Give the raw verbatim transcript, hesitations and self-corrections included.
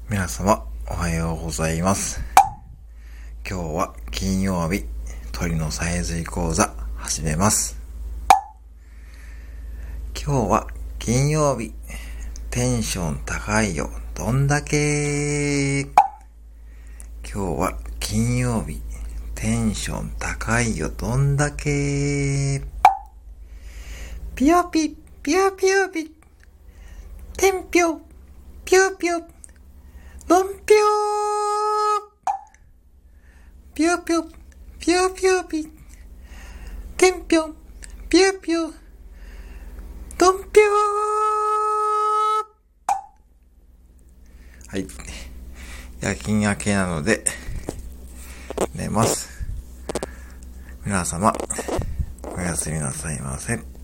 皆様おはようございます。今日は金曜日、鳥のさえずり講座始めます。今日は金曜日、テンション高いよどんだけ。今日は金曜日、テンション高いよどんだけ。ピヨピピヨピヨピ、テンピョピヨピヨ、ドンピョー、ピヨピヨピヨピヨピ、テンピョピヨピヨ、ドンピョー。はい、夜勤明けなので寝ます。皆様おやすみなさいませ。